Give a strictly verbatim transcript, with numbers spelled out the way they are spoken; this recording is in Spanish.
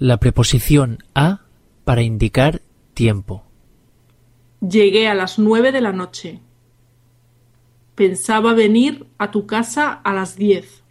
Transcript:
La preposición a para indicar tiempo. Llegué a las nueve de la noche. Pensaba venir a tu casa a las diez.